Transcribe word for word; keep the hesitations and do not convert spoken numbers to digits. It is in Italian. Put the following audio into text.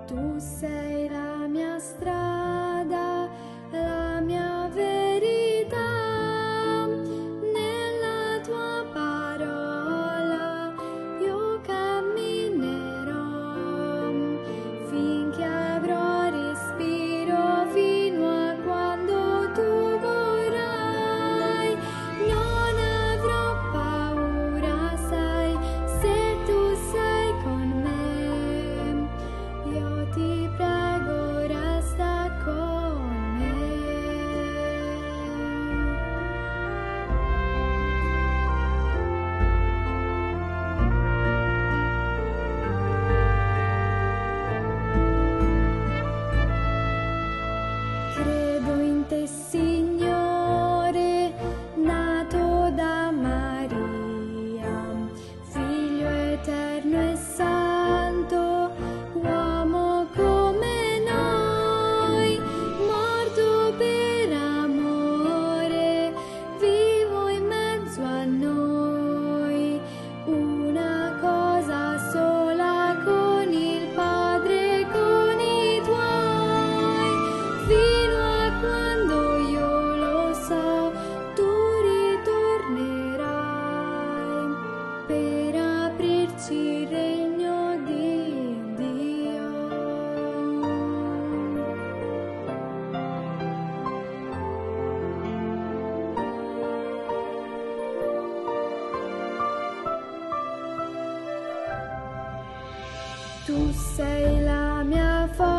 Tu sei la mia strada, la mia verità, nella tua parola io camminerò, finché avrò respiro, fino a quando tu vorrai. Non avrò paura, sai, se tu sei con me. Io ti prego, resta con me. Credo in te, Signore, nato da Maria, Figlio eterno e santo, uomo come noi, morto per amore, vivo in mezzo a noi. Una cosa sola con il Padre e con i tuoi, fino a quando io lo so, tu ritornerai per aprirci il regno di Dio. Tu sei la mia forza,